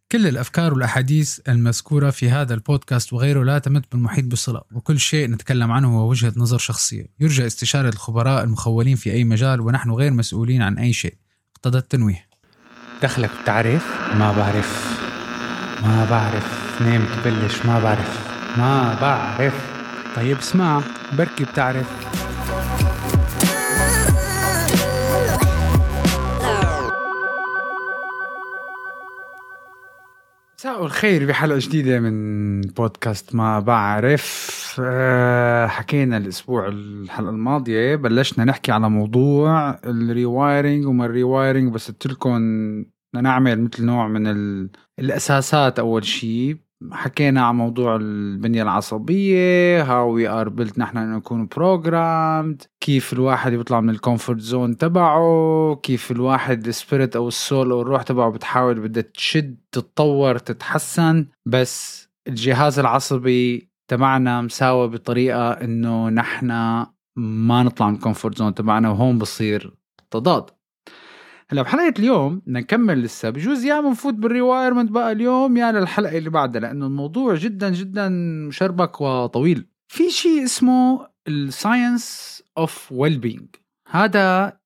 كل الأفكار والأحاديث المذكورة في هذا البودكاست وغيره لا تمت بالمحيط بصلة، وكل شيء نتكلم عنه هو وجهة نظر شخصية يرجى استشارة الخبراء المخولين في أي مجال، ونحن غير مسؤولين عن أي شيء. اقتضى التنويه. دخلك بتعرف؟ ما بعرف نام تبلش. ما بعرف. طيب اسمع، بركي بتعرف. مساء الخير بحلقة جديدة من بودكاست ما بعرف. حكينا الحلقة الماضية بلشنا نحكي على موضوع الريوايرنج وما الريوايرنج، بس قلتلكم نعمل مثل نوع من الأساسات. أول شيء حكينا عن موضوع البنية العصبية، how we are built، نحن نكون programmed، كيف الواحد يطلع من الكومفورت زون تبعه، كيف الواحد السبيريت أو السول أو الروح تبعه بتحاول بدها تشد تتطور تتحسن، بس الجهاز العصبي تبعنا مساوي بطريقة إنه نحن ما نطلع من الكومفورت زون تبعنا، وهون بصير تضاد. هلا بحلقة اليوم نكمل لسه، بجوز يا منفوت بالريوايرمنت بقى اليوم يا للحلقة اللي بعدها، لأنه الموضوع جدا جدا مشربك وطويل. في شيء اسمه الساينس اوف ويل بينج، هذا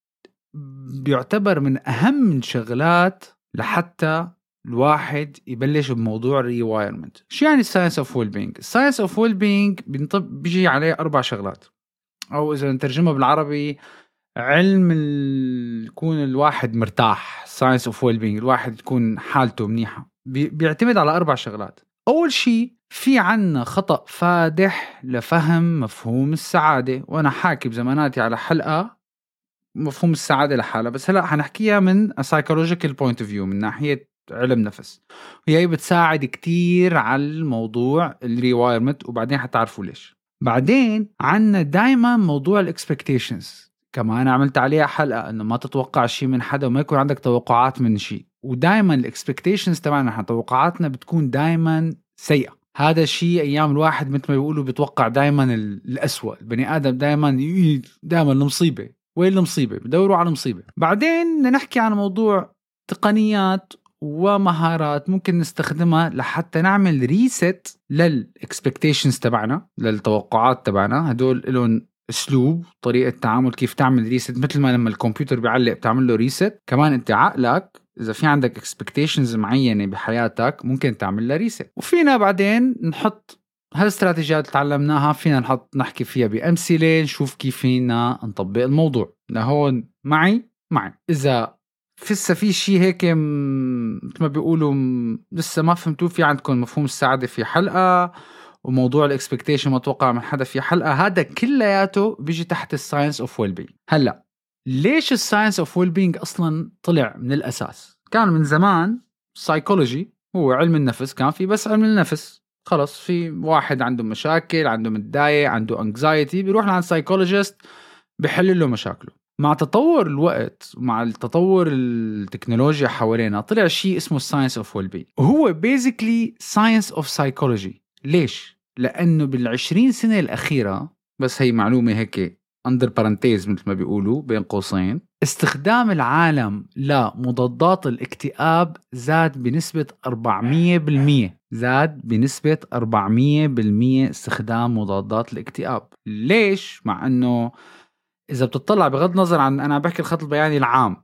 بيعتبر من أهم الشغلات لحتى الواحد يبلش بموضوع الريوايرمنت. شو يعني الساينس اوف ويل بينج؟ الساينس اوف ويل بينج بيجي عليه 4 شغلات، أو إذا نترجمها بالعربي علم يكون الواحد مرتاح. science of well-being، الواحد يكون حالته منيحة، بيعتمد على 4 شغلات. أول شيء في عنا خطأ فادح لفهم مفهوم السعادة، وأنا حاكي بزماناتي على حلقة مفهوم السعادة لحالة، بس هلأ حنحكيها من a psychological point of view، من ناحية علم نفس، وهي بتساعد كتير على الموضوع الريوايرمنت، وبعدين حتعرفوا ليش. بعدين عنا دايما موضوع الاكسبكتيشنز، كمان عملت عليها حلقة انه ما تتوقع شيء من حدا وما يكون عندك توقعات من شيء، ودايما الاكسبكتيشنز تبعنا احنا توقعاتنا بتكون دايما سيئة. هذا الشيء ايام الواحد مثل ما بيقولوا بيتوقع دايما الأسوأ، البني ادم دايما المصيبة، وين المصيبة؟ بدوروا على المصيبة. بعدين نحكي عن موضوع تقنيات ومهارات ممكن نستخدمها لحتى نعمل ريست للاكسبكتيشنز تبعنا، للتوقعات تبعنا. هدول لهم اسلوب، طريقه تعامل، كيف تعمل ريست. مثل ما لما الكمبيوتر بيعلق بتعمل له ريست، كمان انت عقلك اذا في عندك اكسبكتيشنز معينه بحياتك ممكن تعمل له ريست. وفينا بعدين نحط هالاستراتيجيات اللي تعلمناها، فينا نحكي فيها بامثله، نشوف كيف فينا نطبق الموضوع. لهون معي اذا في شيء هيك مثل ما بيقولوا لسه ما فهمتوا، في عندكم مفهوم السعاده في حلقه، وموضوع الاكسبكتيشن ما توقع من حدا في حلقة، هذا كلياته بيجي تحت الساينس اوف ويل بينج. هلا ليش الساينس اوف ويل بينج اصلا طلع من الاساس؟ كان من زمان سايكولوجي هو علم النفس، كان في بس علم النفس، خلص في واحد عنده مشاكل، عنده متضايق، عنده انكزايتي، بيروح لعند سايكولوجيست بيحل له مشاكله. مع تطور الوقت، مع التطور التكنولوجيا حوالينا، طلع شيء اسمه الساينس اوف ويل بينج، وهو بيزيكلي ساينس اوف سايكولوجي. ليش؟ لأنه بال20 سنة الأخيرة، بس هي معلومة هيك under parenthesis مثل ما بيقولوا بين قوسين، استخدام العالم لمضادات الاكتئاب زاد بنسبة 400%. زاد بنسبة 400% استخدام مضادات الاكتئاب. ليش؟ مع أنه إذا بتطلع بغض نظر عن، أنا بحكي الخط البياني العام،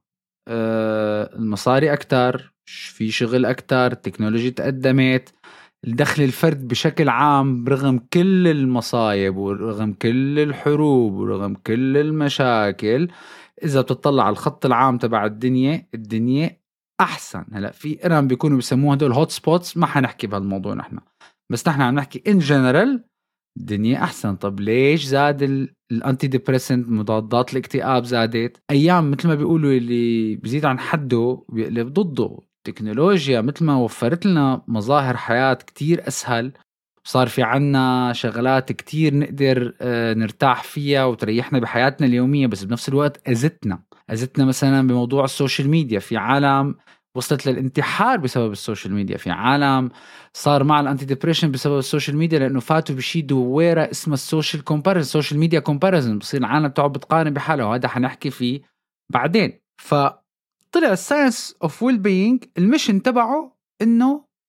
المصاري أكتر، في شغل أكتر، التكنولوجيا تقدمت، الدخل الفرد بشكل عام برغم كل المصايب ورغم كل الحروب ورغم كل المشاكل، إذا بتطلع على الخط العام تبع الدنيا أحسن. هلأ في إيران بيكونوا بيسموها هدول هوت سبوتس، ما حنحكي بهالموضوع نحن، بس نحن عم نحكي in general الدنيا أحسن. طب ليش زاد الأنتي ديبريسنت، مضادات الاكتئاب زادت؟ أيام مثل ما بيقولوا اللي بيزيد عن حده بيقلب ضده. تكنولوجيا مثل ما وفرت لنا مظاهر حياة كتير أسهل، صار في عنا شغلات كتير نقدر نرتاح فيها وتريحنا بحياتنا اليومية، بس بنفس الوقت أزتنا مثلا بموضوع السوشيال ميديا. في عالم وصلت للانتحار بسبب السوشيال ميديا، في عالم صار مع الانتي ديبريشن بسبب السوشيال ميديا، لأنه فاتوا بشي دويرة اسمها السوشيال كومباريزن، السوشيال ميديا كومباريزن، بصير العالم تقعد بتقارن بحاله، وهذا حنحكي فيه بعدين. طلع الساينس اوف ويل بينج الميشن تبعه انه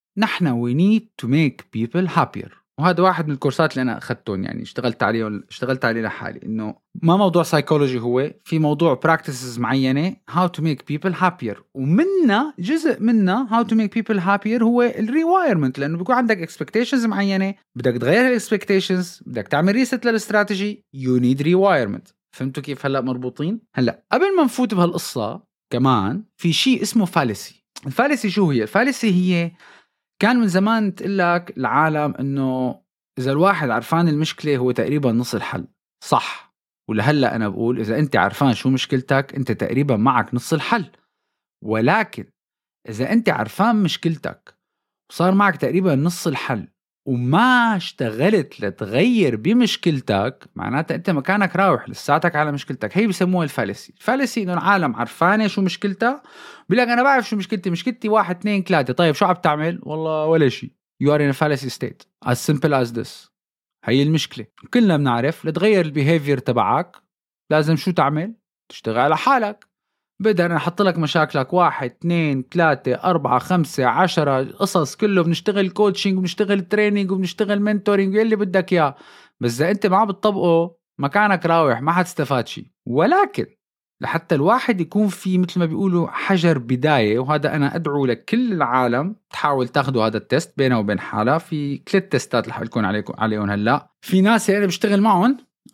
نحن we need to make people happier. وهذا واحد من الكورسات اللي أنا أخذتهم، يعني اشتغلت عليه لحالي، إنه ما موضوع سايكولوجي، هو في موضوع practices معينة how to make people happier، ومنها جزء منها how to make people happier هو الريوايرمنت، لأنه بيكون عندك expectations معينة، بدك تغير expectations، بدك تعمل reset للاستراتيجي، you need rewirement. فهمتوا كيف هلأ مربوطين؟ هلأ قبل ما نفوت بهالقصة كمان في شيء اسمه فالسي. الفالسي شو هي؟ الفالسي هي كان من زمان تقلك العالم إنه إذا الواحد عرفان المشكلة هو تقريبا نص الحل، صح؟ ولهلأ أنا بقول إذا أنت عرفان شو مشكلتك أنت تقريبا معك نص الحل. ولكن إذا أنت عرفان مشكلتك وصار معك تقريبا نص الحل وما اشتغلت لتغير بمشكلتك، معناتها أنت مكانك راوح لساتك على مشكلتك. هي بيسموها الفالسي. الفالسي إنه العالم عرفانة شو مشكلتها، بيقول لك أنا بعرف شو مشكلتي 1 2 3. طيب شو عم تعمل؟ والله ولا شيء. You are in a fallacy state as simple as this. هي المشكلة. كلنا بنعرف لتغير البيهيفير تبعك لازم شو تعمل؟ تشتغل على حالك. بدأ أنا أحط لك مشاكلك 1 2 3 4 5 10 قصص، كله بنشتغل كوتشنج وبنشتغل ترينينج وبنشتغل منتورينج يلي بدك إياه، بس إذا أنت ما بتطبقه مكانك راوح، ما حتستفاد شيء. ولكن لحتى الواحد يكون في مثل ما بيقولوا حجر بداية، وهذا أنا أدعو لكل العالم تحاول تاخدوا هذا التست بينه وبين حالة. في 3 تستات اللي حقولكم عليهم هلأ. في ناس أنا بشتغل معهم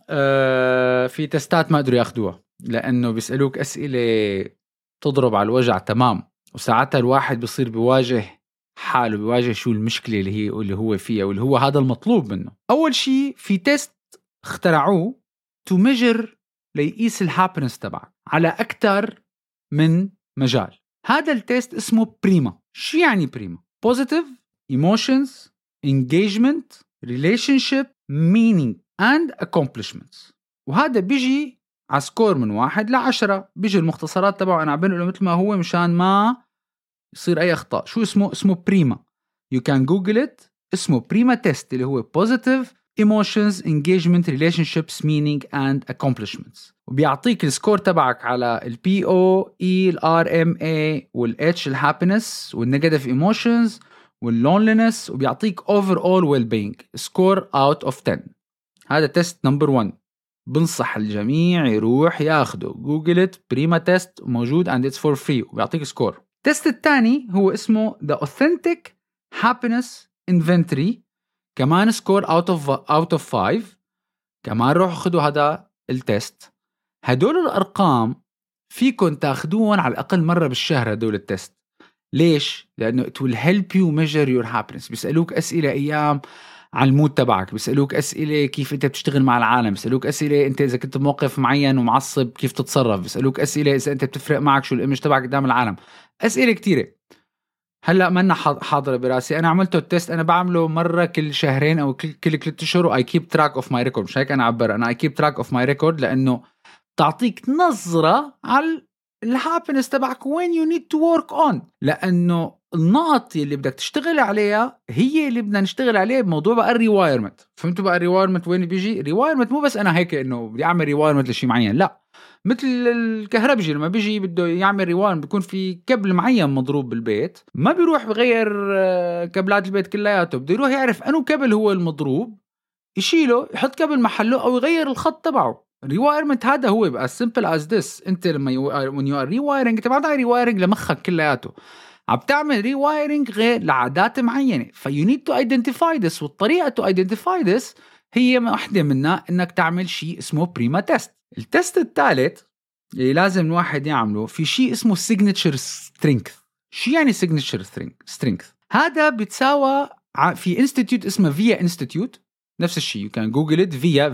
في تستات ما قدروا ياخدوها لأنه بيسألوك أسئلة تضرب على الوجع تمام، وساعتها الواحد بيصير بيواجه حاله، بيواجه شو المشكلة اللي هو فيها واللي هو هذا المطلوب منه. أول شيء في تست اخترعوه to measure ليقيس الهابنس تبعك على أكتر من مجال. هذا التست اسمه بريما. شو يعني بريما؟ Positive, Emotions, Engagement, Relationship, Meaning and Accomplishments. وهذا بيجي على سكور من 1 ل10. بيجي المختصرات تبعه أنا عبين له مثل ما هو مشان ما يصير أي أخطاء. شو اسمه بريما. You can google it. اسمه بريما تيست اللي هو Positive, Emotions, Engagement, Relationships, Meaning and Accomplishments. وبيعطيك السكور تبعك على ال PO, E, ال RMA وال H ال Happiness وال Negative Emotions وال Loneliness، وبيعطيك Overall Well-being score out of 10. هذا تيست نمبر 1. بنصح الجميع يروح ياخده. جوجل it بريما تيست موجود and it's for free وبيعطيك سكور. التيست الثاني هو اسمه The Authentic Happiness Inventory، كمان سكور out of 5. كمان روحوا خدوا هذا التيست. هدول الأرقام فيكن تاخدوهم على الأقل مرة بالشهر. هدول التيست ليش؟ لأنه it will help you measure your happiness. بيسألوك أسئلة أيام عن المود تبعك، بيسألوك أسئلة كيف أنت بتشتغل مع العالم، بيسألوك أسئلة أنت إذا كنت بموقف معين ومعصب كيف تتصرف، بيسألوك أسئلة إذا أنت بتفرق معك شو الإيمج تبعك قدام العالم. أسئلة كتيرة هلأ منا حاضرة براسي. أنا عملته التست، أنا بعمله مرة كل شهرين أو كل 3 أشهر. I keep track of my record. مش هيك أنا عبر، أنا I keep track of my record لأنه تعطيك نظرة على الهابنس تبعك when you need to work on. لأنه النقط اللي بدك تشتغل عليها هي اللي بدنا نشتغل عليها بموضوع بقى الريوايرمنت. فهمتوا بقى الريوايرمنت وين بيجي؟ ريوايرمنت مو بس أنا هيك إنه بدي أعمل ريوايرمنت لشيء معين، لا. مثل الكهربجي لما بيجي بده يعمل ريوايرمنت بيكون في كبل معين مضروب بالبيت، ما بيروح بغير كبلات البيت كلياته، بده يروح يعرف أنه كبل هو المضروب، يشيله يحط كبل محله أو يغير الخط تبعه. ريوايرمنت هذا هو بقى simple as this. انت لما when you are rewiring انت ما بتعمل ريوايرنج لمخك كلياته، عم تعمل ريوايرنج غير لعادات معينة. you need to identify this. والطريقة to identify this هي واحدة منها انك تعمل شيء اسمه بريما تيست. التست الثالث اللي لازم الواحد يعمله في شيء اسمه signature strength. شو يعني signature strength؟ هذا بتساوى في انستيتيوت اسمه فيا انستيتيوت، نفس الشيء. you can google it via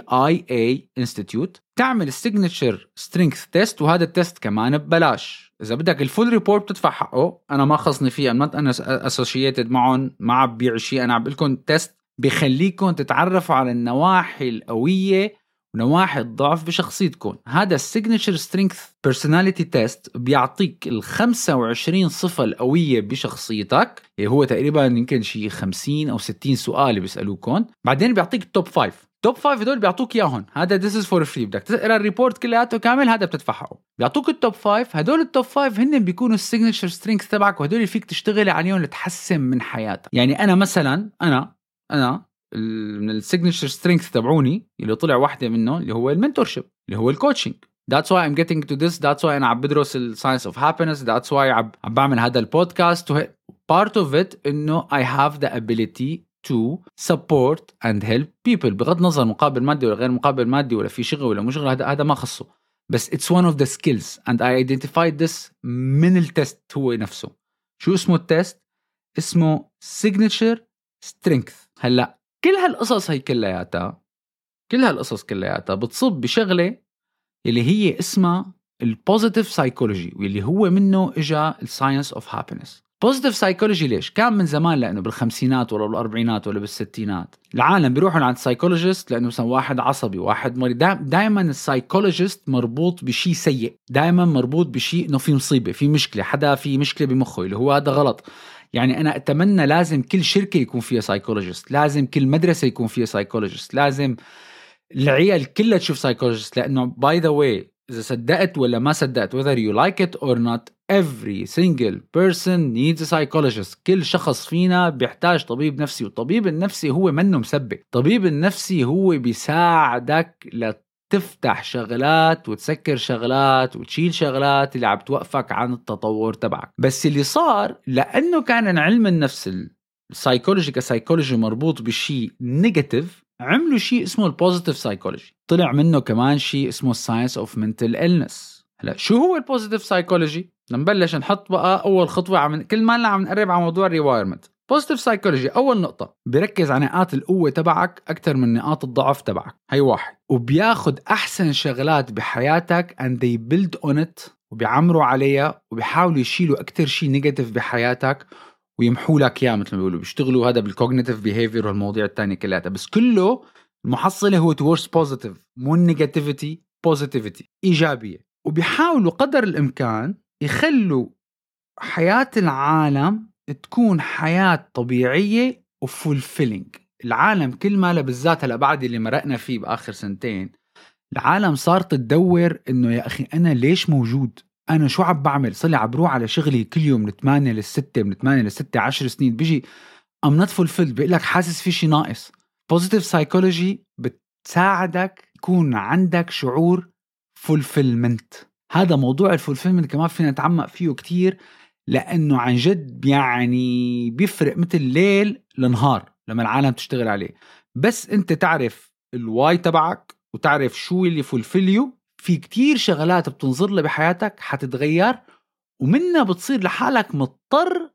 VIA Institute. تعمل السيجنتشر سترينث تيست، وهذا التيست كمان ببلاش. إذا بدك الفول ريبورت بتدفع حقه. أنا ما خصني فيه، أنا associated معهم، ما عم بيع شيء. أنا عم بقول لكم تيست بيخليكم تتعرفوا على النواحي القوية ونواحي الضعف بشخصيتكم. هذا السيجنتشر سترينث بيرسوناليتي تيست بيعطيك 25 صفة القوية بشخصيتك، اللي هو تقريبا يمكن شيء 50 أو 60 سؤال بيسألوكم. بعدين بيعطيك توب 5. توب 5 هدول بيعطوك اياهم، هذا this is for free، بدك تقرا الريبورت كلياته كامل، هذا بتدفعه. بيعطوك التوب 5، هدول التوب 5 هن بيكونوا السيجنتشر سترينث تبعك، وهدول فيك تشتغل عليهم لتحسن من حياتك. يعني انا مثلا انا من السيجنتشر سترينث تبعوني اللي طلع واحدة منه اللي هو المنتورشيب، اللي هو الكوتشنج. That's why I'm getting to this. That's why أنا عم بدرس الساينس of happiness. That's why عم بعمل هذا البودكاست. Part of it إنه I have the ability to support and help people. بغض نظر مقابل مادي ولا غير مقابل مادي ولا في شغل ولا مش شغل، هذا ما خصه. بس it's one of the skills and I identified this من التست هو نفسه. شو اسمه التست؟ اسمه signature strength. هلأ كل هالقصص كلياتها بتصب بشغلة اللي هي اسمها البوزيتيف سايكولوجي، واللي هو منه اجا الساينس اوف هابينس. بوزيتيف سايكولوجي ليش؟ كان من زمان، لأنه بالخمسينات ولا بالأربعينات ولا بالستينات العالم بيروحوا عند سايكولوجيست، لأنه مثلا واحد عصبي واحد مريض. دائما السايكولوجيست مربوط بشيء سيء، دائما مربوط بشيء إنه في مصيبة، في مشكلة، حدا في مشكلة بمخه، اللي هو هذا غلط. يعني أنا أتمنى لازم كل شركة يكون فيها سايكولوجيست، لازم كل مدرسة يكون فيها سايكولوجيست، لازم العيال كلها تشوف سايكولوجيست. لأنه by the way إذا صدقت ولا ما صدقت whether you like it or not every single person needs a psychologist. كل شخص فينا بيحتاج طبيب نفسي، والطبيب النفسي هو منه مسبك. الطبيب النفسي هو بيساعدك لتفتح شغلات وتسكر شغلات وتشيل شغلات اللي عم توقفك عن التطور تبعك. بس اللي صار لأنه كان علم النفس السايكولوجي كسايكولوجي مربوط بشيء نيجاتيف، عملوا شيء اسمه البوزيتيف سايكولوجي. طلع منه كمان شيء اسمه الساينس اوف منتل إلنس. هلا شو هو البوزيتيف سايكولوجي؟ نبلش نحط بقى اول خطوه، كل ما عم نقرب على موضوع الريوايرمنت. بوزيتيف سايكولوجي اول نقطه بيركز على نقاط القوه تبعك اكثر من نقاط الضعف تبعك، هي واحد. وبياخد احسن شغلات بحياتك and they build on it، وبيعمروا عليها وبيحاولوا يشيلوا اكثر شيء نيجاتيف بحياتك ويمحوا لك اياه، مثل ما بيقولوا بيشتغلوا هذا بالكوجنيتيف بيهيفير والمواضيع الثانيه كلها. بس كله المحصله هو towards positive، مو نيجاتيفيتي، بوزيتيفيتي، ايجابيه. وبيحاولوا قدر الامكان يخلوا حياة العالم تكون حياة طبيعية وفولفيلينج. العالم كل ما بالذات هلا بعد اللي مرقنا فيه بآخر سنتين، العالم صارت تدور إنه يا أخي أنا ليش موجود؟ أنا شو عم بعمل؟ صلي عم بروح على شغلي كل يوم من 8 ل6 من 8 ل6 10 سنين، بيجي I'm not fulfilled، بيقول لك حاسس في شي ناقص. Positive psychology بتساعدك يكون عندك شعور fulfillment. هذا موضوع الفولفيلمنت كمان فينا نتعمق فيه كتير، لأنه عن جد يعني بيفرق مثل ليل لنهار لما العالم تشتغل عليه. بس أنت تعرف الواي تبعك وتعرف شو اللي فولفيليو، في كتير شغلات بتنظر له بحياتك حتتغير، ومنها بتصير لحالك مضطر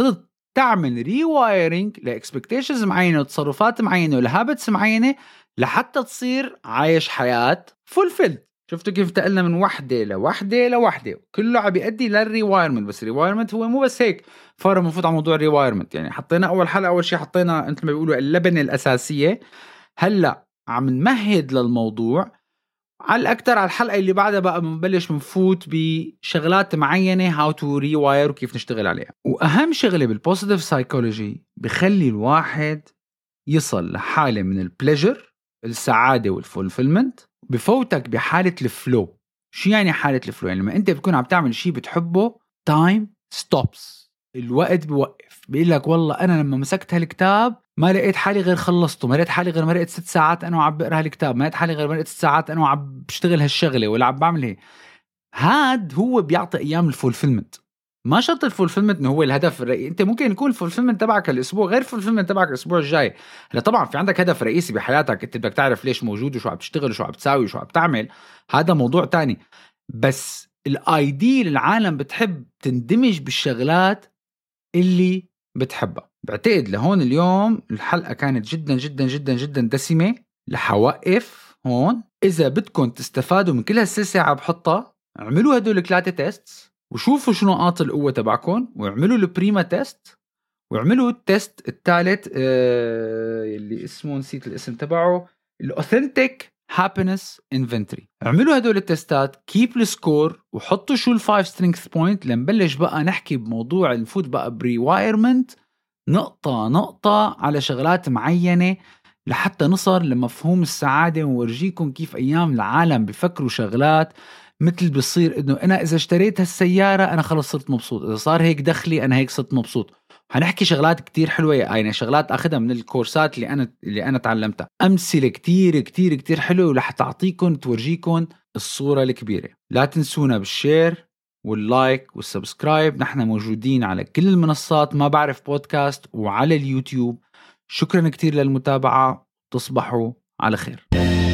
تعمل ريوايرنج لإكسبكتيشنز معينة وتصرفات معينة ولهابتس معينة لحتى تصير عايش حياة فولفيلد. شفتوا كيف تقلنا من وحدة لوحدة كله عم بيؤدي للريوايرمنت. بس الريوايرمنت هو مو بس هيك فار مفوت على موضوع الريوايرمنت. يعني حطينا أول حلقة، أول شيء حطينا أنت ما بيقولوا اللبنة الأساسية. هلأ عم نمهد للموضوع على الأكتر. على الحلقة اللي بعدها بقى بنبلش منفوت بشغلات معينة how to rewire وكيف نشتغل عليها. وأهم شغلة بالبوزيتيف سايكولوجي بخلي الواحد يصل لحالة من البليجر، السعادة والفولفيلمنت، بفوتك بحالة الفلو. شو يعني حالة الفلو؟ يعني لما أنت بتكون عم تعمل شيء بتحبه time stops، الوقت بوقف. بيقول لك والله أنا لما مسكت هالكتاب ما لقيت حالي غير خلصته، ما لقيت حالي غير ما لقيت 6 ساعات أنا وعم بقرأ هالكتاب، ما لقيت حالي غير ما لقيت 6 ساعات أنا وعم بشتغل هالشغلة ولا عم بعمل هي. هاد هو بيعطي أيام الفولفيلمنت. ما شرط الفولفيلمنت إنه هو الهدف الرئيسي. أنت ممكن يكون الفولفيلمنت تبعك الأسبوع غير الفولفيلمنت تبعك الأسبوع الجاي. هلا طبعا في عندك هدف رئيسي بحياتك، أنت بدك تعرف ليش موجود وشو عم تشتغل وشو عم تساوي وشو عم تعمل، هذا موضوع تاني. بس الآيديل العالم بتحب تندمج بالشغلات اللي بتحبها. بعتقد لهون اليوم الحلقة كانت جدا جدا جدا جدا دسمة. لحوقف هون. إذا بدكم تستفادوا من كل هالسلسلة عم بحطها، اعملوا هدول 3 تيست وشوفوا شنو نقاط القوة تبعكم، واعملوا البريما تيست، واعملوا التيست الثالث اللي اسمه نسيت الاسم تبعه، الأوثنتيك happiness inventory. اعملوا هدول التستات، keep السكور، وحطوا شو ال5 strength point. لنبلش بقى نحكي بموضوع نفوت بقى بريوايرمنت نقطة نقطة على شغلات معينة لحتى نصل لمفهوم السعادة، ونورجيكم كيف أيام العالم بيفكروا شغلات مثل بيصير إنه أنا إذا اشتريت هالسيارة أنا خلص صرت مبسوط، إذا صار هيك دخلي أنا هيك صرت مبسوط. هنحكي شغلات كتير حلوة، يعني شغلات أخذها من الكورسات اللي أنا تعلمتها، أمثلة كتير كتير كتير حلوة ورح تعطيكم تورجيكم الصورة الكبيرة. لا تنسونا بالشير واللايك والسبسكرايب. نحن موجودين على كل المنصات ما بعرف بودكاست وعلى اليوتيوب. شكرا كتير للمتابعة، تصبحوا على خير.